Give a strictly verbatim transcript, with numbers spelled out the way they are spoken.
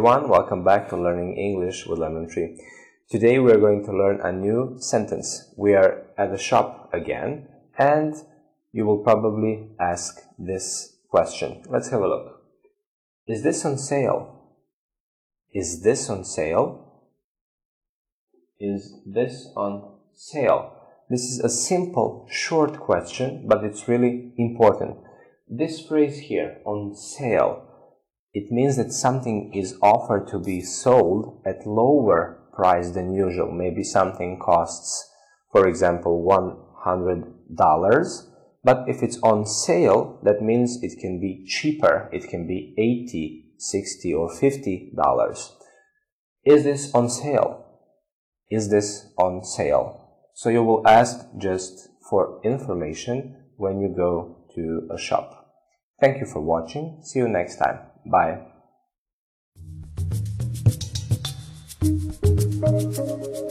everyone, welcome back to Learning English with Lemon Tree. Today we are going to learn a new sentence. We are at the shop again and you will probably ask this question. Let's have a look. Is this on sale? Is this on sale? Is this on sale? This is a simple, short question, but it's really important. This phrase here, on sale, it means that something is offered to be sold at lower price than usual. Maybe something costs, for example, one hundred dollars, but if it's on sale, that means it can be cheaper. It can be eighty, sixty, or fifty dollars. Is this on sale? Is this on sale? So you will ask just for information when you go to a shop. Thank you for watching. See you next time. Bye.